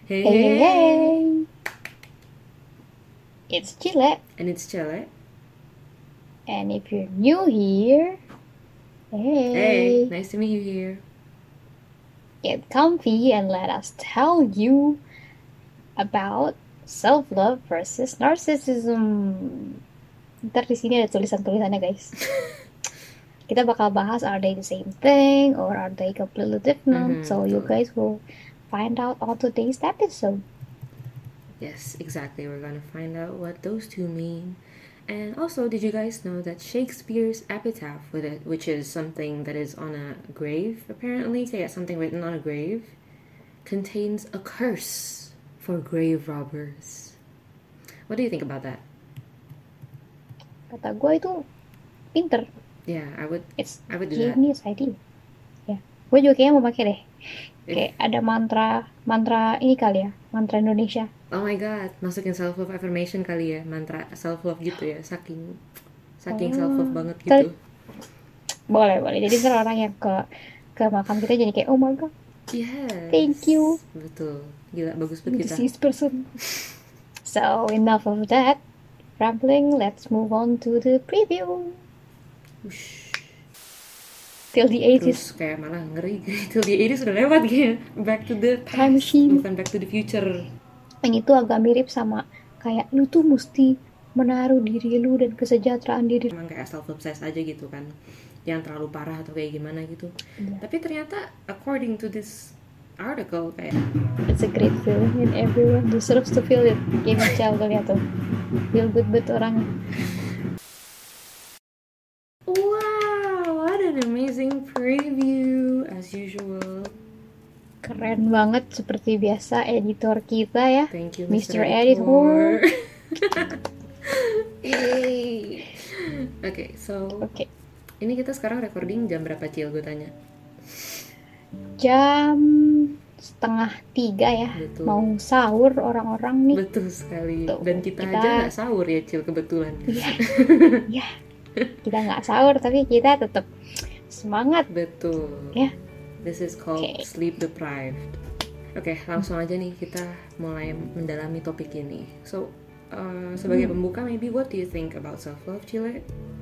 Hey, Hey, hey, hey, hey! hey! It's Chile, And it's Chele. and if you're new here, Hey, hey, nice to meet you here. get comfy and let us tell you about self-love versus narcissism. Ntar di sini ada tulisan-tulisannya, guys. Kita bakal bahas are they the same thing or are they completely different? So you Betul. guys will find out on today's episode. Yes, exactly. We're gonna find out what those two mean. And also, did you guys know that Shakespeare's epitaph with it, which is something that is on a grave, apparently, kayak something written on a grave, contains a curse for grave robbers. What do you think about that? Kata gue itu pinter. Yeah, I would It's do that. genius idea. Ya, gue juga kayaknya mau pakai deh. If, Kayak ada mantra ini kali ya, mantra Indonesia. oh my god, masukin self love affirmation kali ya, mantra self love gitu ya, saking self love banget gitu. Boleh. Jadi ntar orang yang ke makam kita jadi kayak, oh my god, Yes. thank you, Betul. Gila, bagus you banget kita. deceased person. So enough of that rambling. Let's move on to the preview. Ush. Till the 80s. Terus kayak malah ngeri till the 80s sudah lewat gitu. Back to the past, Time machine. bukan back to the future. Ini tuh agak mirip sama kayak lu tuh mesti menaruh diri lu dan kesejahteraan diri. Emang kayak self-obsessed aja gitu kan, yang terlalu parah atau kayak gimana gitu. Yeah. Tapi ternyata according to this article kayak it's a great feeling and everyone deserves to feel it. Kayak Michelle tuh lihat tuh, feel good orang. wow, what an amazing preview as usual. Keren banget seperti biasa editor kita ya. Thank you Mr. Mr. Editor. Yay. Okay, so Oke. ini kita sekarang recording jam berapa, Cil? Gue tanya. Jam 2:30 ya. Betul. Mau sahur orang-orang nih. Betul sekali. Tuh, Dan kita aja nggak sahur ya, Cil, kebetulan. Iya. Kita nggak sahur tapi kita tetap semangat. Betul. Ya. This is called sleep deprived. Oke, langsung aja nih kita mulai mendalami topik ini. So, sebagai pembuka, maybe what do you think about self-love, Cile?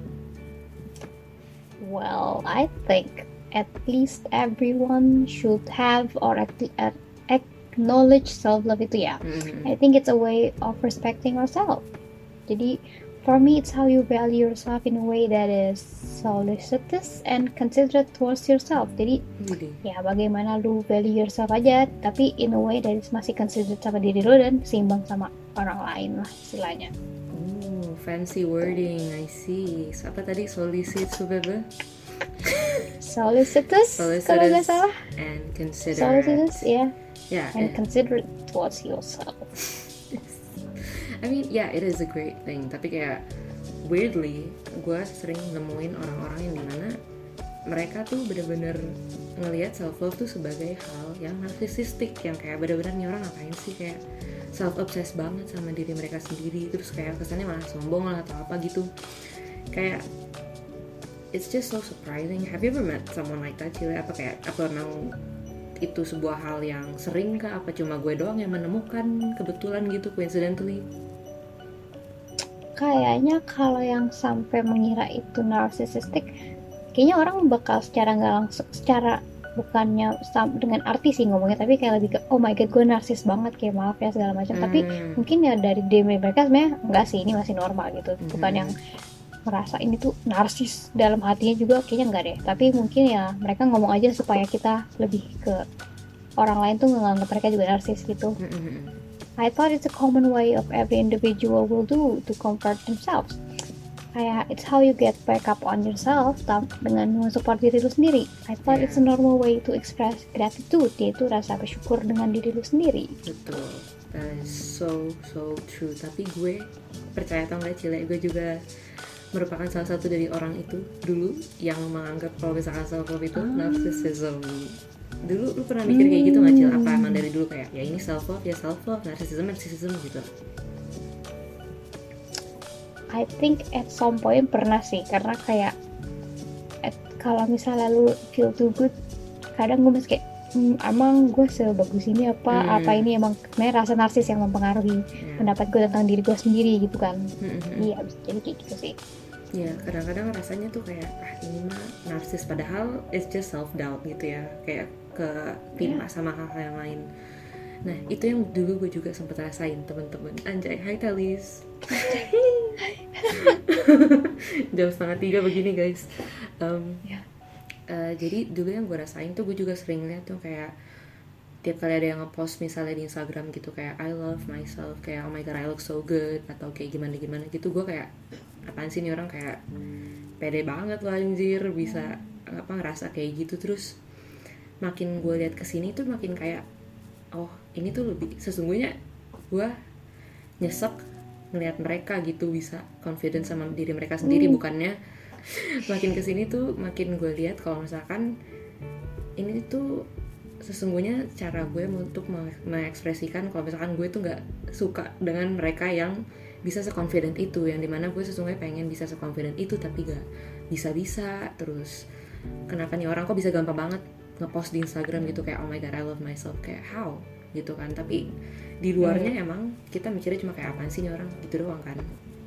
Well, I think at least everyone should have or acknowledge self-love itu ya. I think it's a way of respecting ourselves. Jadi, for me, it's how you value yourself in a way that is solicitous and considerate towards yourself. Jadi, ya bagaimana lu value yourself aja, tapi in a way that is masih considerate sama diri lu dan seimbang sama orang lain lah istilahnya. Oh, fancy wording, I see. So, apa tadi? Solicitous, kalau nggak salah. And considerate. Solicitous, yeah. Yeah. And considerate towards yourself. I mean, yeah, it is a great thing. Tapi kayak weirdly, gue sering nemuin orang-orang yang dimana mereka tuh bener-bener ngelihat self love tuh sebagai hal yang narsisistik, yang kayak bener-bener nih orang ngapain sih kayak self-obsessed banget sama diri mereka sendiri, terus kayak kesannya malah sombong lah atau apa gitu. Kayak it's just so surprising. Have you ever met someone like that, Cile? Apa kayak apa memang itu sebuah hal yang sering kah? Apa cuma gue doang yang menemukan kebetulan gitu, coincidentally? Kayaknya kalau yang sampai mengira itu narcissistic, kayaknya orang bakal secara nggak langsung, secara bukannya dengan arti sih ngomongnya, tapi kayak lebih ke oh my god gue narsis banget, kayak maaf ya segala macam. Tapi mungkin ya dari diri mereka sebenarnya enggak sih, ini masih normal gitu, bukan yang merasa ini tuh narsis dalam hatinya juga, kayaknya enggak deh. Tapi mungkin ya mereka ngomong aja supaya kita lebih ke orang lain tuh nganggap mereka juga narsis gitu. I thought it's a common way of every individual will do to comfort themselves. Kayak it's how you get back up on yourself dengan mensupport diri lu sendiri. I thought it's a normal way to express gratitude, yaitu rasa bersyukur dengan diri lu sendiri. Betul, that is so true. Tapi gue percaya atau nggak, Cile, gue juga merupakan salah satu dari orang itu dulu yang menganggap kalau misalkan self-love itu narcissism. Dulu lu pernah mikir kayak gitu nggak, Cil? Apa emang dari dulu kayak ya ini self-love ya self-love, narcissism gitu? I think at some point pernah sih, karena kayak kalau misalnya lu feel too good, kadang gue masih kayak emang gue sebagus ini apa ini emang sebenarnya rasa narsis yang mempengaruhi pendapat gue tentang diri gue sendiri gitu kan. Iya bisa jadi kayak gitu sih. Ya kadang-kadang rasanya tuh kayak ini mah narsis, padahal it's just self doubt gitu ya, kayak ketimpa sama hal-hal yang lain. Nah itu yang dulu gue juga sempet rasain temen-temen. Anjay, hai Talis. Jam 2:30 begini guys. Jadi dulu yang gue rasain tuh, gue juga sering lihat tuh kayak tiap kali ada yang ngepost misalnya di Instagram gitu kayak I love myself, kayak oh my god I look so good, atau kayak gimana gitu, gue kayak apaan sih nih orang, kayak pede banget loh anjir bisa ngerasa kayak gitu. Terus makin gue lihat kesini tuh makin kayak oh ini tuh lebih sesungguhnya gue nyesek ngelihat mereka gitu bisa confident sama diri mereka sendiri. Bukannya makin kesini tuh makin gue lihat kalau misalkan ini tuh sesungguhnya cara gue untuk mengekspresikan kalau misalkan gue tuh nggak suka dengan mereka yang bisa seconfident itu, yang dimana gue sesungguhnya pengen bisa seconfident itu tapi gak bisa. Terus kenapa nih orang kok bisa gampang banget ngepost di Instagram gitu kayak oh my god I love myself, kayak how gitu kan, tapi di luarnya emang kita mikirnya cuma kayak apaan sih nih orang gitu doang kan.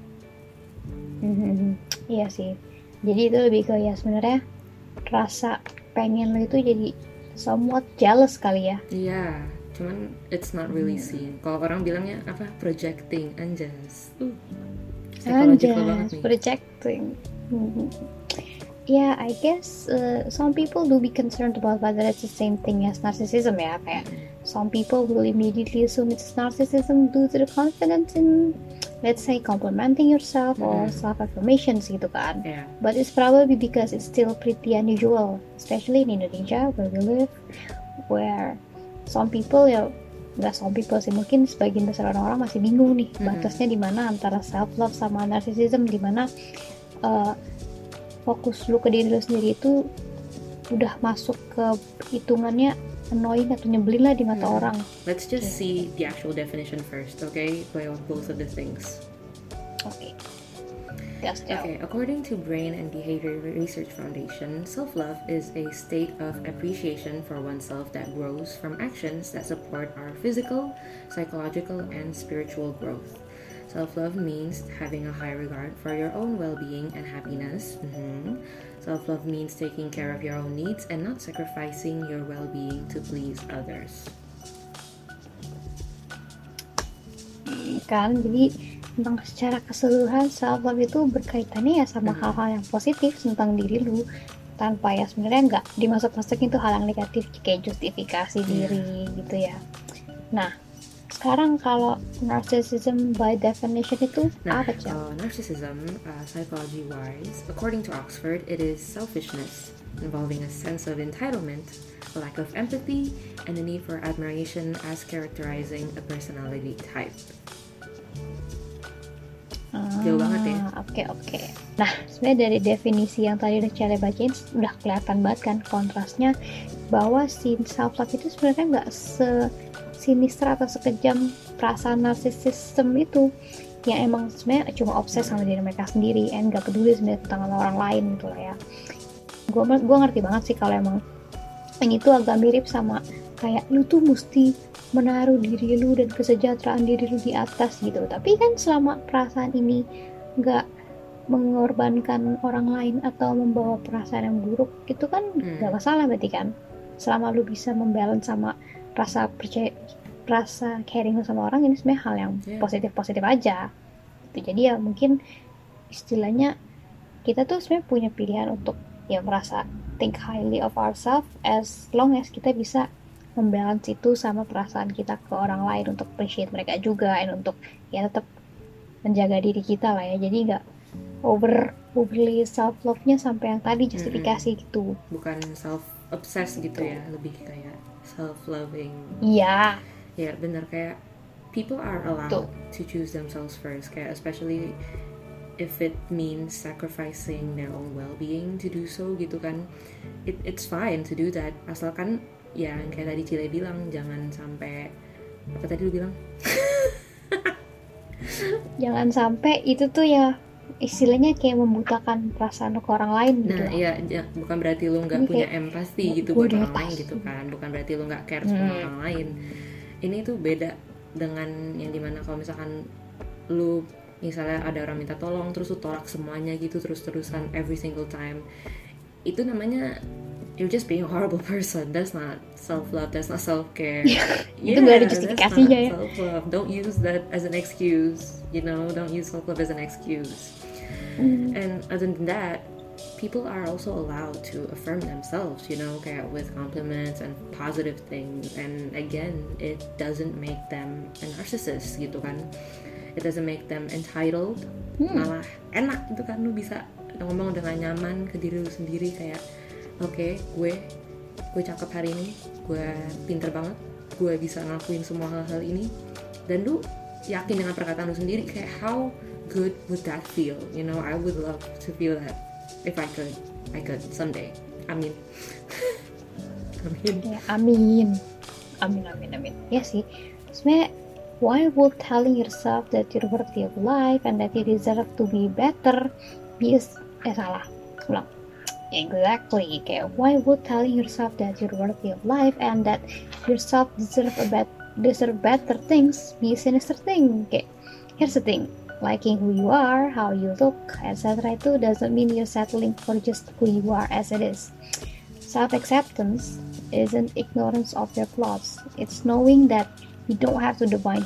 Iya sih, jadi itu lebih ke ya sebenarnya rasa pengen lo itu jadi somewhat jealous kali ya. Iya, cuman it's not really seen. Kalau orang bilangnya apa, projecting, anjas. Psychological banget nih. Projecting. Yeah, I guess some people do be concerned about whether it's the same thing as narcissism ya. Kayak some people will immediately assume it's narcissism due to the confidence in, let's say, complimenting yourself or self-affirmations gitu kan. Yeah. But it's probably because it's still pretty unusual, especially in Indonesia where we live, where some people ya, nggak some people sih, mungkin sebagian besar orang-orang masih bingung nih batasnya di mana antara self-love sama narcissism, di mana fokus lu ke diri lu sendiri itu udah masuk ke hitungannya annoying atau nyebelin lah di mata orang. Let's just see the actual definition first, okay? By both of the things. Okay. Okay, according to Brain and Behavior Research Foundation, self-love is a state of appreciation for oneself that grows from actions that support our physical, psychological, and spiritual growth. Self-love means having a high regard for your own well-being and happiness. Self-love means taking care of your own needs and not sacrificing your well-being to please others. Kan, jadi tentang secara keseluruhan self-love itu berkaitannya ya sama hal-hal yang positif tentang diri lu, tanpa ya sebenarnya nggak dimasuk-masukin tuh hal yang negatif kayak justifikasi diri gitu ya. Nah, sekarang kalau narcissism by definition itu apa sih? Narcissism, psychology-wise, according to Oxford, it is selfishness involving a sense of entitlement, a lack of empathy, and a need for admiration as characterizing a personality type. Jauh banget ya. Oke. Nah, sebenarnya dari definisi yang tadi udah Cale bacain udah kelihatan banget kan kontrasnya, bahwa si self-love itu sebenarnya nggak sinister atau sekejam perasaan narsisism itu, yang emang sebenarnya cuma obses sama diri mereka sendiri and gak peduli sebenarnya tentang orang lain gitu lah ya. Gue ngerti banget sih kalau emang ini tuh agak mirip sama kayak lu tuh mesti menaruh diri lu dan kesejahteraan diri lu di atas gitu, tapi kan selama perasaan ini gak mengorbankan orang lain atau membawa perasaan yang buruk gitu kan gak masalah berarti kan, selama lu bisa membalance sama rasa caring sama orang, ini sebenarnya hal yang positif aja gitu. Jadi ya mungkin istilahnya kita tuh sebenarnya punya pilihan untuk ya merasa think highly of ourselves as long as kita bisa membalance itu sama perasaan kita ke orang lain, untuk appreciate mereka juga, dan untuk ya tetap menjaga diri kita lah ya. Jadi nggak overly self love-nya sampai yang tadi justifikasi gitu. Bukan self obsessed gitu ya, lebih kayak self-loving. Iya. Ya benar, kayak people are allowed to choose themselves first, kayak especially if it means sacrificing their own well-being to do so gitu kan. It's fine to do that, asalkan ya kayak tadi Cile bilang jangan sampai, apa tadi lu bilang? Jangan sampai itu tuh ya istilahnya kayak membutakan perasaan ke orang lain gitu Nah lah. iya, bukan berarti lu nggak Ini punya kayak empati gitu gue buat di orang lain atas. gitu kan, bukan berarti lu nggak care sama orang lain. Ini tuh beda dengan yang dimana kalau misalkan lu misalnya ada orang minta tolong terus lu tolak semuanya gitu terus-terusan every single time, itu namanya you're just being a horrible person. That's not self love, that's not self care. Itu gak ada Yeah, that's not justifikasinya ya. self love. Don't use that as an excuse, you know, don't use self love as an excuse. And other than that, people are also allowed to affirm themselves, you know, kayak with compliments and positive things. And again, it doesn't make them a narcissist gitu kan. It doesn't make them entitled. Malah enak gitu kan, lu bisa ngomong dengan nyaman ke diri lu sendiri kayak oke, gue cakep hari ini, gue pinter banget, gue bisa ngelakuin semua hal-hal ini, dan lu yakin dengan perkataan lu sendiri. Kayak how good would that feel, you know? I would love to feel that. If I could someday. Amin. Amin. Ya, amin. Amin. Ya sih. Sebenarnya, why would telling yourself that you're worthy of life and that you deserve to be better salah. Ulang. Exactly. Kayak why would telling yourself that you're worthy of life and that yourself deserve better things be a sinister thing? Kayak here's the thing. Liking who you are, how you look, etc. itu doesn't mean you're settling for just who you are as it is. Self-acceptance isn't ignorance of your flaws. It's knowing that you don't have to define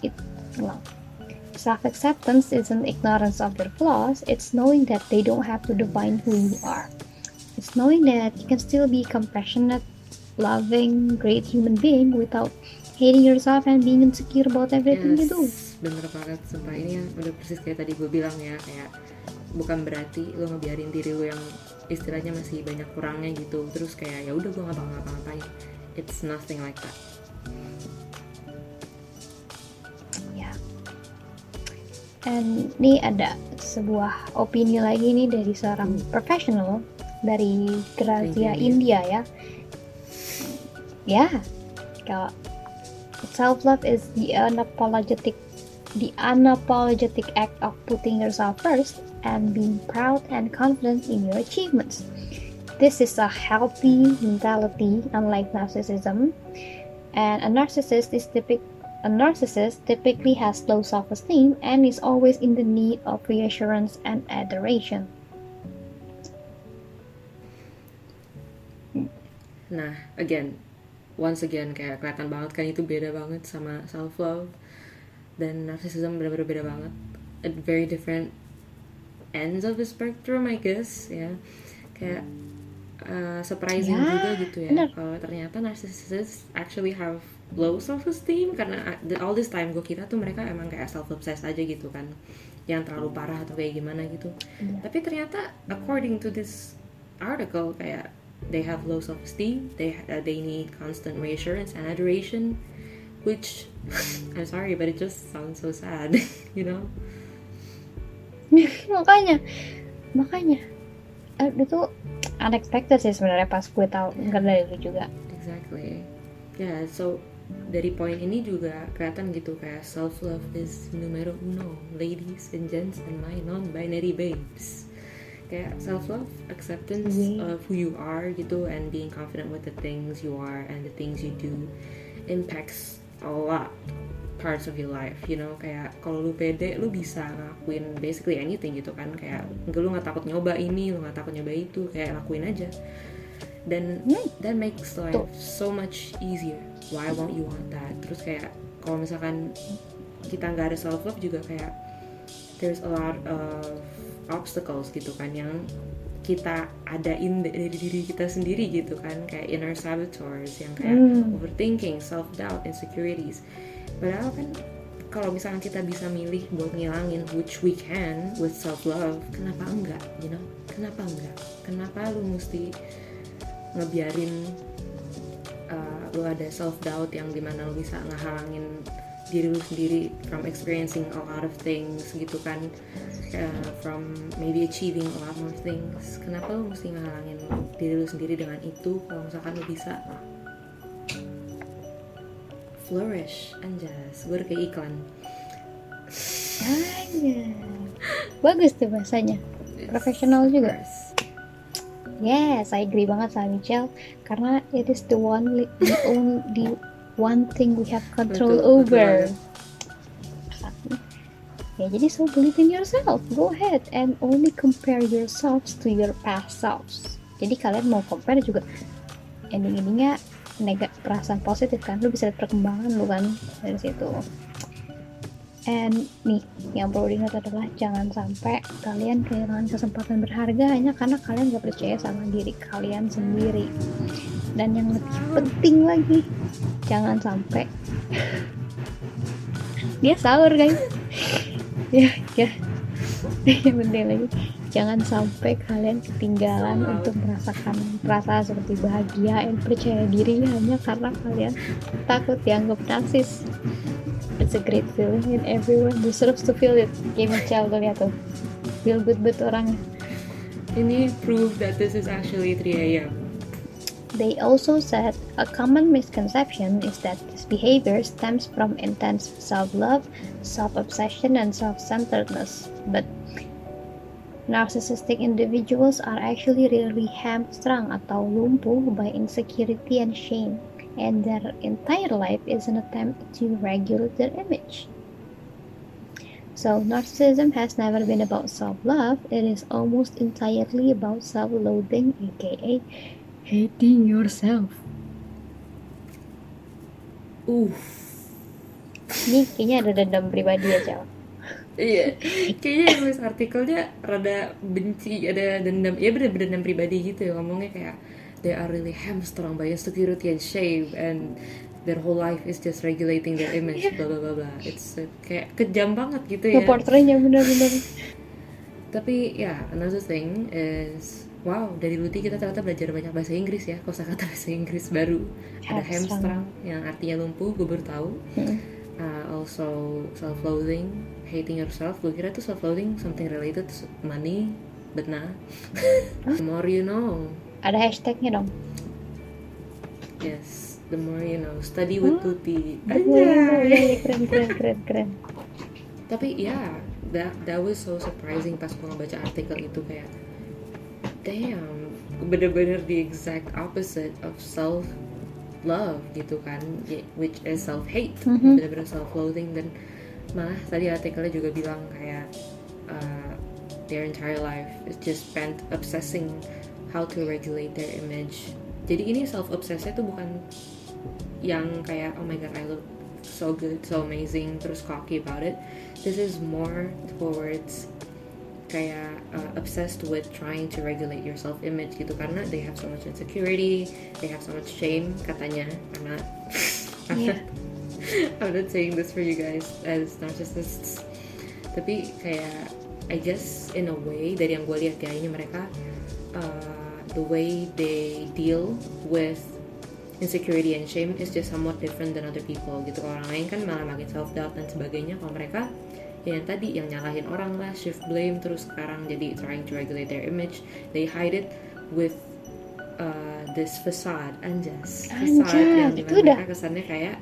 Self-acceptance isn't ignorance of your flaws. It's knowing that they don't have to define who you are. It's knowing that you can still be compassionate, loving, great human being without hating yourself and being insecure about everything you do. Bener banget, sumpah. Ini yang udah persis kayak tadi gue bilang ya, kayak bukan berarti lo ngebiarin diri lo yang istilahnya masih banyak kurangnya gitu terus kayak ya udah gue nggak bakal ngapa-ngapain. It's nothing like that. Ya. And ini ada sebuah opini lagi nih dari seorang profesional dari Grazia India ya. Ya, kalau self-love is the unapologetic act of putting yourself first and being proud and confident in your achievements. This is a healthy mentality, unlike narcissism. And a narcissist typically has low self-esteem and is always in the need of reassurance and adoration. Nah, once again kayak kelihatan banget kan itu beda banget sama self-love. Dan narcissism benar-benar beda banget, at very different ends of the spectrum, I guess ya. Kayak surprising juga gitu ya kalau ternyata narcissists actually have low self-esteem, karena all this time gue kira tuh mereka emang kayak self-obsessed aja gitu kan, yang terlalu parah atau kayak gimana gitu. Tapi ternyata according to this article kayak they have low self-esteem, they need constant reassurance and adoration, which I'm sorry but it just sounds so sad. You know. makanya itu unexpected sih sebenarnya pas gue tahu nggak dari lu juga. Exactly. Yeah, so dari poin ini juga kelihatan gitu kayak self love is numero uno, ladies and gents and my non-binary babes. Kayak self love, acceptance of who you are gitu, and being confident with the things you are and the things you do impacts a lot parts of your life, you know. Kayak kalau lu pede, lu bisa ngakuin basically anything gitu kan. Kayak lu nggak takut nyoba ini, lu nggak takut nyoba itu, kayak lakuin aja. Dan that makes life so much easier. Why won't you want that? Terus kayak kalau misalkan kita nggak ada self love juga kayak there's a lot of obstacles gitu kan yang kita adain dari diri kita sendiri gitu kan, kayak inner saboteurs yang kayak overthinking, self-doubt, insecurities. Padahal kan kalau misalkan kita bisa milih buat ngilangin, which we can with self-love, kenapa enggak, you know? Kenapa enggak? Kenapa lu mesti ngebiarin lu ada self-doubt yang dimana lu bisa ngehalangin diri lu sendiri from experiencing a lot of things gitu kan, from maybe achieving a lot more things. Kenapa lu mesti ngehalangin diri lu sendiri dengan itu kalau misalkan lu bisa flourish, anjas, gue udah kayak iklan. Bagus tuh bahasanya, profesional juga. Yes. Yes, I agree banget sama Michelle, karena it is the one thing we have control Betul over. banget. Ya, jadi so believe in yourself, go ahead and only compare yourselves to your past selves. Jadi kalian mau compare juga ending-endingnya perasaan positif kan, lu bisa lihat perkembangan lu kan dari situ. And nih, yang perlu diingat adalah jangan sampai kalian kehilangan kesempatan berharga hanya karena kalian gak percaya sama diri kalian sendiri. Dan yang lebih penting lagi, jangan sampai dia sahur guys. ya yang penting lagi, jangan sampai kalian ketinggalan untuk merasakan perasaan seperti bahagia dan percaya diri hanya karena kalian takut dianggap narsis. It's a great feeling and everyone deserves to feel it. Kayak Michelle tuh lihat tuh, feel good orangnya. Ini proof that this is actually 3 a.m. They also said a common misconception is that this behavior stems from intense self-love, self-obsession, and self-centeredness. But narcissistic individuals are actually really hamstrung atau lumpuh by insecurity and shame, and their entire life is an attempt to regulate their image. So narcissism has never been about self-love, it is almost entirely about self-loathing, aka hating yourself. Ini kayaknya ada dendam pribadi aja. Iya, kayaknya yang nulis artikelnya rada benci, ada dendam, ya bener-bener dendam pribadi gitu ya, ngomongnya kayak they are really hamstrung by insecurity and shame and their whole life is just regulating their image, bla bla bla bla. It's kayak kejam banget gitu ya. Portraynya bener-bener. Tapi ya, another thing is, wow, dari Luti kita ternyata belajar banyak bahasa Inggris ya, kosakata bahasa Inggris baru. Ada hamstrung yang artinya lumpuh, gue baru tahu. Also self-loathing, hating yourself. Gue kira tuh self-loathing something related to money, but nah. The more you know. Ada hashtagnya dong. Yes, the more you know. Study with Tuti. Anjay. Keren. Tapi ya, that was so surprising pas gue ngebaca artikel itu, kayak damn, bener-bener the exact opposite of self-love gitu kan, which is self-hate. Bener-bener self-loathing. Dan malah tadi artikelnya juga bilang kayak their entire life is just spent obsessing how to regulate their image. Jadi ini self-obsessnya tuh bukan yang kayak oh my god I look so good, so amazing, terus cocky about it. This is more towards kayak obsessed with trying to regulate your self-image gitu, karena they have so much insecurity, they have so much shame katanya. I'm not saying this for you guys as narcissists, tapi kayak I guess in a way dari yang gue lihat ya, ini mereka the way they deal with insecurity and shame is just somewhat different than other people gitu. Orang lain kan malah makin self-doubt dan sebagainya, kalau mereka ya yang tadi, yang nyalahin orang lah, shift blame, terus sekarang jadi trying to regulate their image. They hide it with this facade, facade yang dimana mereka kesannya kayak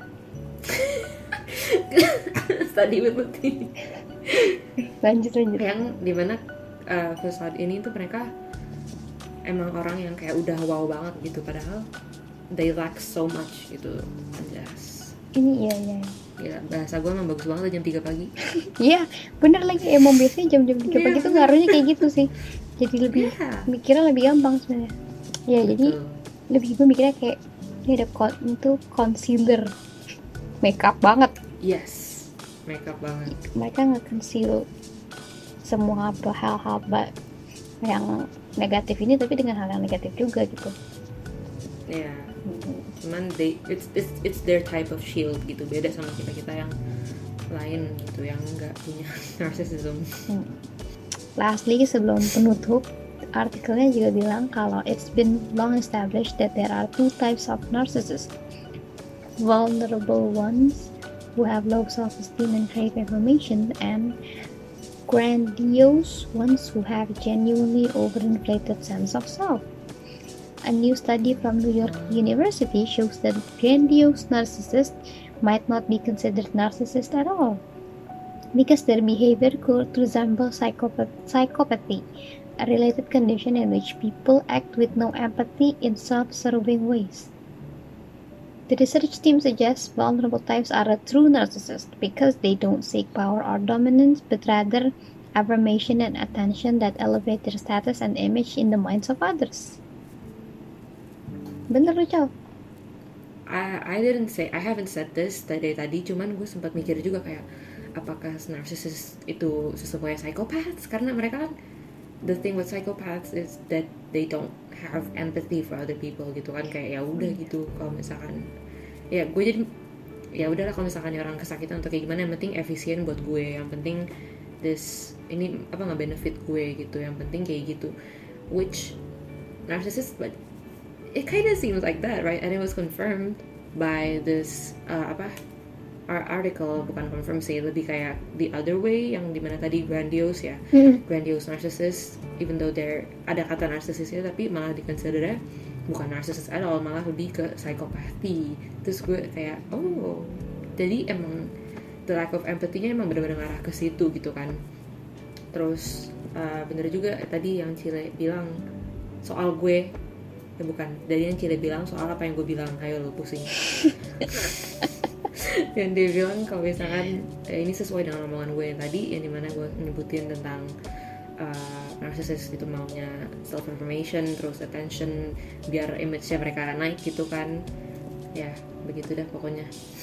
study with Luti. lanjut yang dimana facade ini tuh mereka emang orang yang kayak udah wow banget gitu, padahal they lack so much gitu. Ini ya bahasa gue emang bagus banget jam 3 pagi. Iya bener lagi, emang biasanya jam 3 pagi tuh ngaruhnya kayak gitu sih, jadi lebih mikirnya lebih gampang sebenarnya ya. Jadi lebih gue mikirnya kayak ini ada itu concealer, makeup banget. Yes, makeup banget. Mereka nge-conceal semua hal-hal yang negatif ini, tapi dengan hal yang negatif juga gitu. Ya, cuman it's their type of shield gitu, beda sama kita yang lain gitu, yang nggak punya narcissism. Lastly, sebelum penutup, artikelnya juga bilang kalau it's been long established that there are two types of narcissists: vulnerable ones who have low self-esteem and crave information, and grandiose ones who have genuinely overinflated sense of self. A new study from New York University shows that grandiose narcissists might not be considered narcissists at all. because their behavior could resemble psychopathy, a related condition in which people act with no empathy in self-serving ways. The research team suggests vulnerable types are a true narcissist because they don't seek power or dominance, but rather affirmation and attention that elevate their status and image in the minds of others. Bener Cal? I haven't said this tadi, cuman gue sempat mikir juga kayak apakah narcissist itu sesungguhnya psychopaths, karena mereka kan the thing with psychopaths is that they don't have empathy for other people gitu kan, kayak ya udah gitu, kalau misalkan ya gue jadi ya udahlah, kalau misalkan orang kesakitan atau kayak gimana, yang penting efisien buat gue, yang penting ini nggak benefit gue gitu, yang penting kayak gitu, which narcissist, but it kind of seems like that, right? And it was confirmed by this article, bukan confirm sih, lebih kayak the other way, yang dimana tadi grandiose ya, grandiose narcissist, even though ada kata narcissistnya, tapi malah dikonsidernya bukan narcissist at all, malah lebih ke psychopathy. Terus gue kayak jadi emang the lack of empathy-nya emang benar-benar ngarah ke situ gitu kan. Terus bener juga tadi yang Cile bilang soal gue, bukan, dari yang Cile bilang soal apa yang gue bilang, ayo lo pusing. Yang dia bilang kalau misalkan ini sesuai dengan omongan gue yang tadi, yang dimana gue nyebutin tentang narcissist itu maunya self affirmation, terus attention, biar image-nya mereka naik gitu kan. Ya begitu dah pokoknya.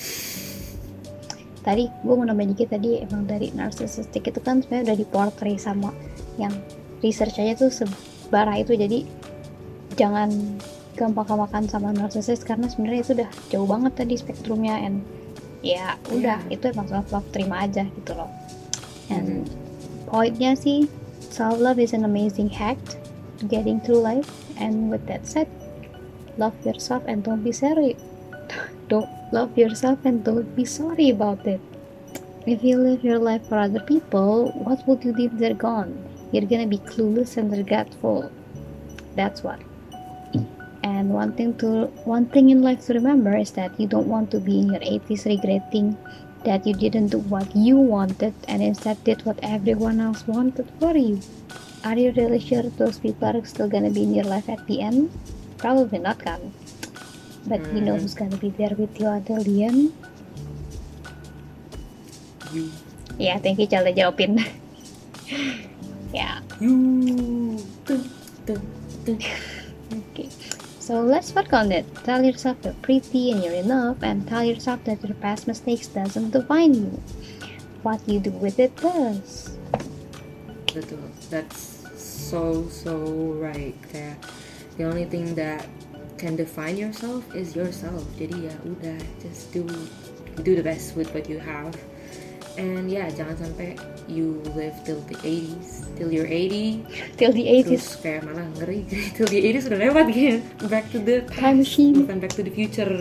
Tadi gue mau nambahin dikit, tadi emang dari narcissistic itu kan sebenarnya udah diportray sama yang research aja tuh sebarah itu, jadi jangan gampang-gampangkan sama narcissist karena sebenarnya itu udah jauh banget tadi spektrumnya, and ya udah itu emang self terima aja gitu loh. And pointnya sih, self love is an amazing hack to getting through life, and with that said, love yourself and don't be sorry. Don't love yourself and don't be sorry about it. If you live your life for other people, what would you do if they're gone? You're gonna be clueless and regretful. That's what. And one thing in life to remember is that you don't want to be in your 80s regretting that you didn't do what you wanted and instead did what everyone else wanted for you. Are you really sure those people are still gonna be in your life at the end? Probably not, kan? But you know who's gonna be there with you until the end? You. Ya, thank you Cal jawabin. Ya. You. Okay. So let's work on it. Tell yourself you're pretty and you're enough, and tell yourself that your past mistakes doesn't define you. What you do with it does. Betul, that's so right. Kayak the only thing that can define yourself is yourself. Jadi ya udah, just do the best with what you have. And yeah, jangan sampai you live till the 80s, till you're 80. Till the 80s. Terus kayak malah ngeri, till the 80s udah lewat gitu. Back to the past, time machine. bukan back to the future.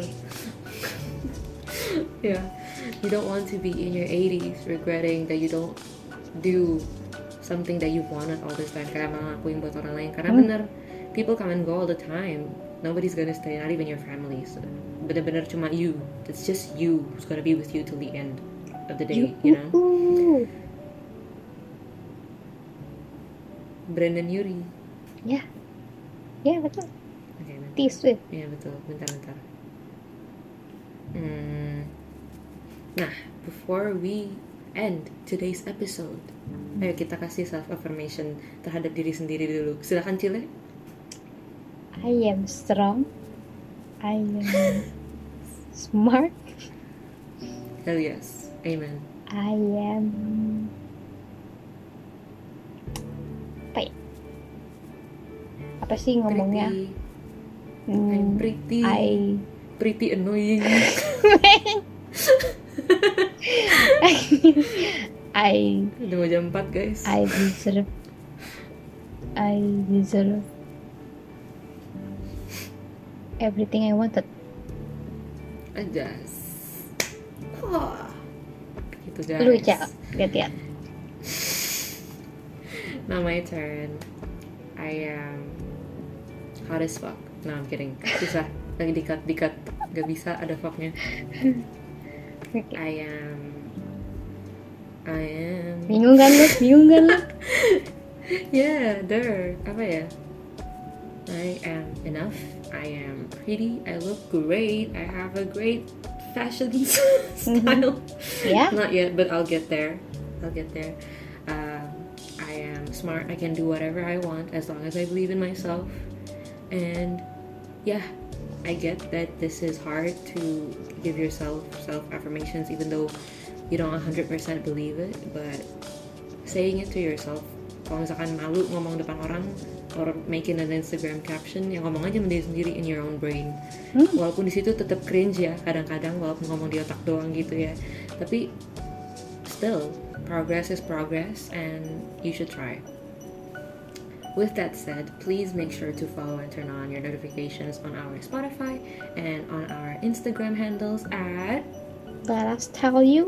Yeah, you don't want to be in your 80s regretting that you don't do something that you wanted all this time, kayak ngelakuin buat orang lain. Karena bener, people come and go all the time. Nobody's gonna stay, not even your family. So, bener-bener cuma you. It's just you who's gonna be with you till the end of the day, you know. Brandon Urie. Ya, yeah, betul. Okay, T-Swift. Ya betul. Bentar. Nah, before we end today's episode, ayo kita kasih self affirmation terhadap diri sendiri dulu. Silakan Cile. I am strong. I am smart. Hell yes. Amen. I am apa sih ngomongnya? I'm pretty annoying. Udah mau jam 4 guys. I deserve everything I wanted. Ajas. Gitu guys. Lu Cak, lihat. Now my turn. I am hot as fuck. No, I'm kidding. Susah. Lagi dikat. Gak bisa ada fucknya. Okay. I am Bingung kan lu? Yeah, apa ya? I am enough. I am pretty. I look great. I have a great fashion style. Yeah. Not yet, but I'll get there. I am smart. I can do whatever I want as long as I believe in myself. And yeah, I get that this is hard to give yourself self-affirmations even though you don't 100% believe it, but saying it to yourself. Kalau misalkan malu ngomong depan orang or making an Instagram caption, yang ngomong aja sama diri sendiri in your own brain. Walaupun di situ tetap cringe ya kadang-kadang, walaupun ngomong di otak doang gitu ya, tapi still progress is progress and you should try. With that said, please make sure to follow and turn on your notifications on our Spotify and on our Instagram handles at Let us tell you.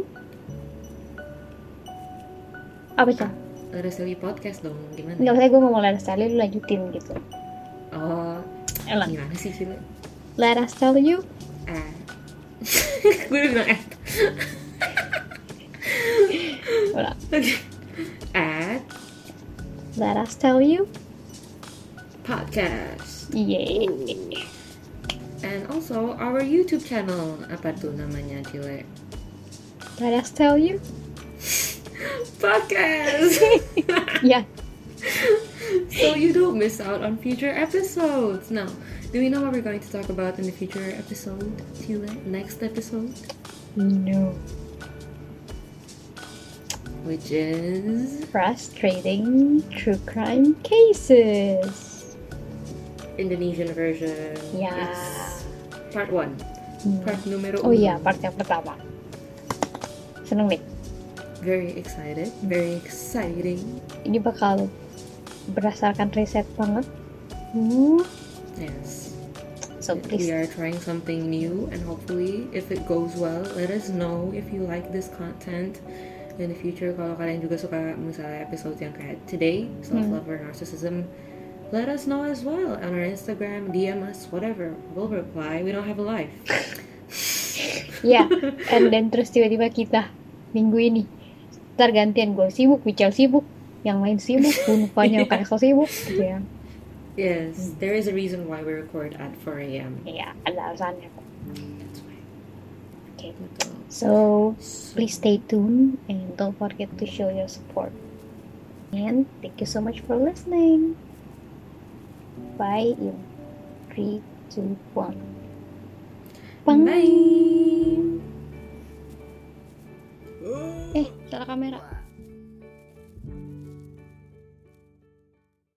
Apa sih? Let Us Tell You Podcast dong, gimana? Nggak usah gue ngomong Let us tell you, lu lanjutin gitu. Oh, Elang. gimana sih Cile? Let us tell you. Gue udah bilang Udah. Okay. At Let us tell you. Podcast. Yeay. And also our YouTube channel. Apa tuh namanya, Cile? Let us tell you. Podcast. Yeah. So you don't miss out on future episodes. Now, do we know what we're going to talk about in the future episode, Chile? Next episode? No. Which is Frustrating true crime cases. Indonesian version. Yeah. It's part 1. Part numero 1. Oh iya, part yang pertama. Seneng nih. Very excited. Very exciting. Ini bakal berdasarkan riset banget. Yes. So please. We are trying something new, and hopefully, if it goes well, let us know if you like this content in the future. Kalau kalian juga suka misalnya episode yang kayak today, self-love or narcissism, let us know as well on our Instagram, DM us, whatever. We'll reply. We don't have a life. Ya, and then terus tiba-tiba kita minggu ini ntar gantian, gue sibuk, Michelle sibuk, yang lain sibuk, Unfanya kayak so sibuk gitu ya. Yes, there is a reason why we record at 4 a.m. Iya, ada alasannya. That's why. Okay. Betul. So please stay tuned and don't forget to show your support. And thank you so much for listening. Bye in 3, 2, 1. Bye. Salah kamera.